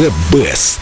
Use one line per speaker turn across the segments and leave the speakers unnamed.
The Best.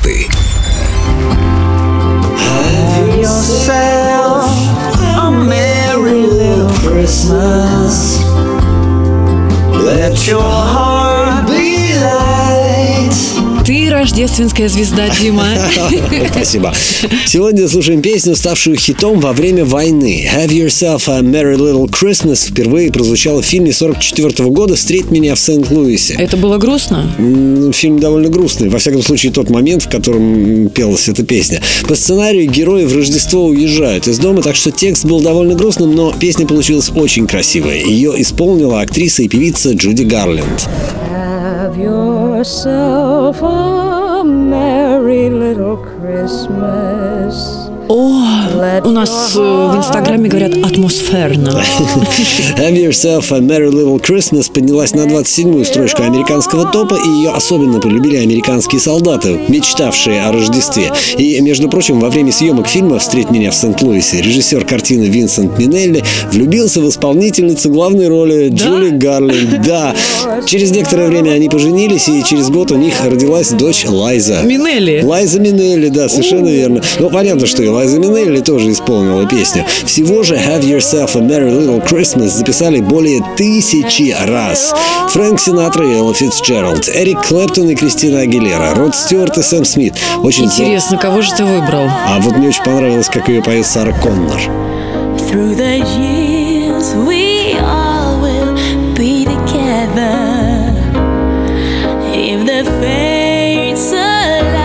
Have yourself a merry little Christmas. Let your heart be light.
Ты рождественская звезда, Дима.
Спасибо. Сегодня слушаем песню, ставшую хитом во время войны. Have Yourself a Merry Little Christmas впервые прозвучала в фильме 1944 года «Встреть меня в Сент-Луисе».
Это было грустно?
Фильм довольно грустный. Во всяком случае, тот момент, в котором пелась эта песня. По сценарию герои в Рождество уезжают из дома, так что текст был довольно грустным, но песня получилась очень красивая. Ее исполнила актриса и певица Джуди Гарленд.
Have yourself a merry little Christmas.
О, у нас в Инстаграме говорят атмосферно.
Have Yourself a Merry Little Christmas поднялась на 27-ю строчку американского топа, и ее особенно полюбили американские солдаты, мечтавшие о Рождестве. И, между прочим, во время съемок фильма «Встреть меня в Сент-Луисе» режиссер картины Винсент Минелли влюбился в исполнительницу главной роли Джуди Гарленд. Да. Через некоторое время они поженились, и через год у них родилась дочь Лайза.
Минелли.
Лайза Минелли, да, совершенно верно. Ну, понятно, что и Лайза Минелли тоже исполнила песню. Всего же Have Yourself a Merry Little Christmas записали более 1000 раз. Фрэнк Синатра и Элла Фицджеральд, Эрик Клэптон и Кристина Агилера, Род Стюарт и Сэм Смит. Очень
Интересно, кого же ты выбрал?
А вот мне очень понравилось, как ее поет Сара Коннор.
Through the years we all will be together if the fates allow.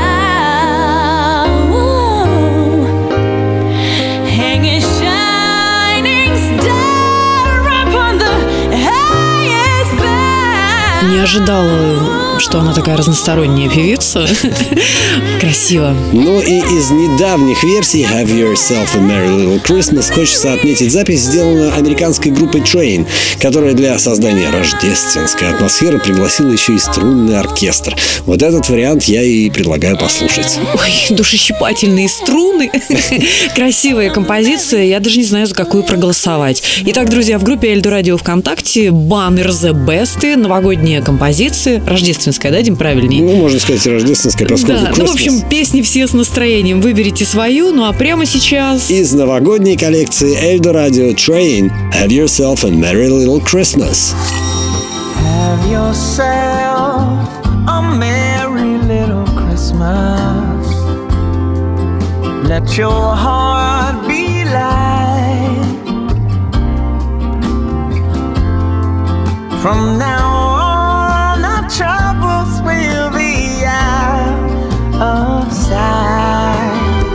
Hang a shining star upon the highest bough.
Не ожидала, что она такая разносторонняя певица. Красиво.
Ну и из недавних версий Have Yourself a Merry Little Christmas хочется отметить запись, сделанную американской группой Train, которая для создания рождественской атмосферы пригласила еще и струнный оркестр. Вот этот вариант я и предлагаю послушать.
Ой, душещипательные струны. Красивая композиция. Я даже не знаю, за какую проголосовать. Итак, друзья, в группе Эльдо Радио ВКонтакте баннер The Best, новогодние композиции. Рождественская, да, Дим, правильнее?
Ну, можно сказать, рождественская, поскольку
да, ну, в общем, песни все с настроением. Выберите свою, ну а прямо сейчас...
Из новогодней коллекции Эльдо Радио Train Have Yourself a Merry Little Christmas.
Have yourself a merry little Christmas. Let your heart be light. From now on, our troubles will be out of sight.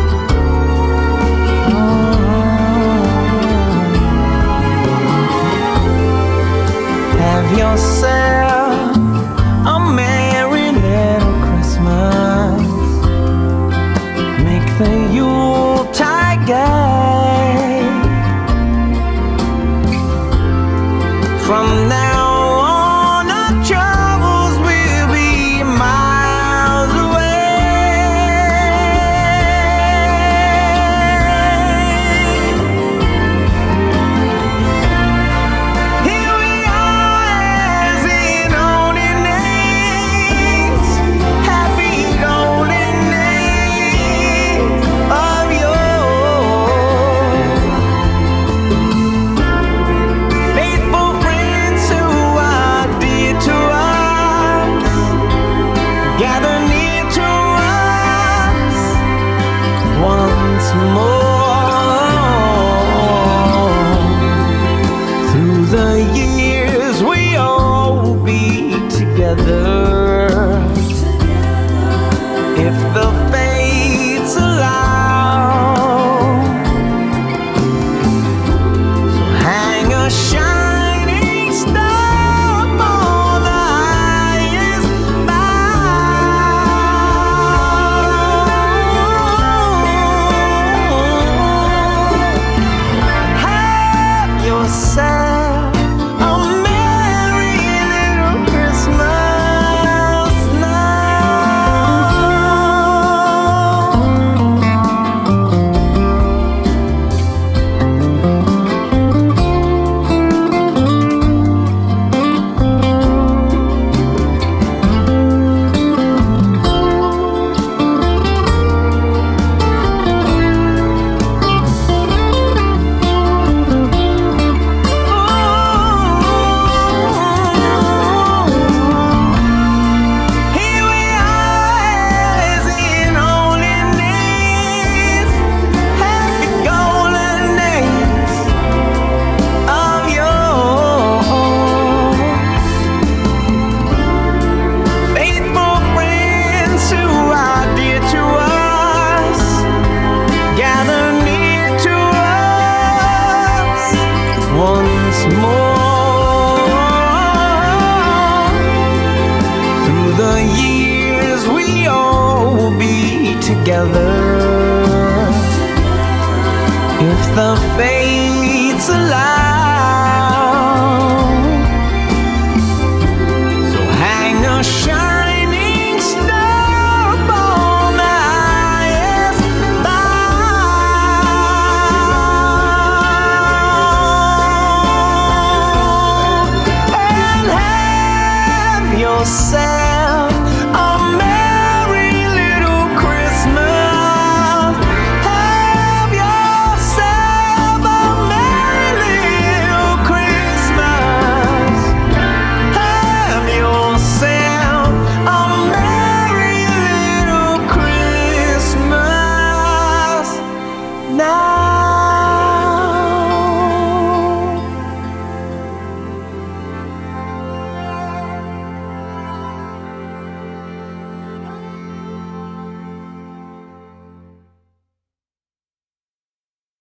Have yourself a merry little Christmas. Make the Yuletide gay. From now on, our troubles will be miles away. Here we are as in olden days, happy golden days of yore. Faithful friends who are dear to us, gather near to us once more. Through the years we all be together if the fates allow. So hang a shining star on the highest bough. Have yourself a merry little Christmas now. once more. Through the years we all will be together.